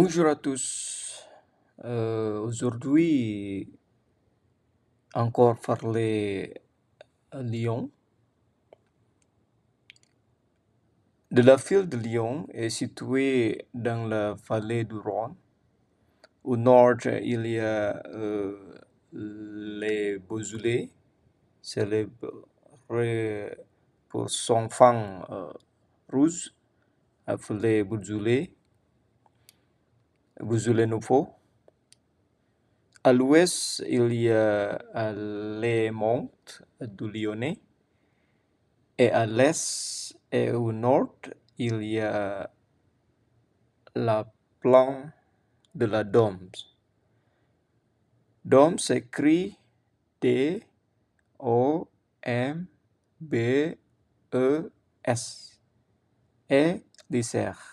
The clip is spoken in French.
Bonjour à tous. Aujourd'hui, encore parler à Lyon. La ville de Lyon est située dans la vallée du Rhône. Au nord, il y a les Beaujolais, célébrés pour son vin rouge, appelé Beaujolais nouveau. À l'ouest, il y a les monts du Lyonnais. Et à l'est et au nord, il y a la plaine de la Dombes. Dombes s'écrit D-O-M-B-E-S et l'Isère.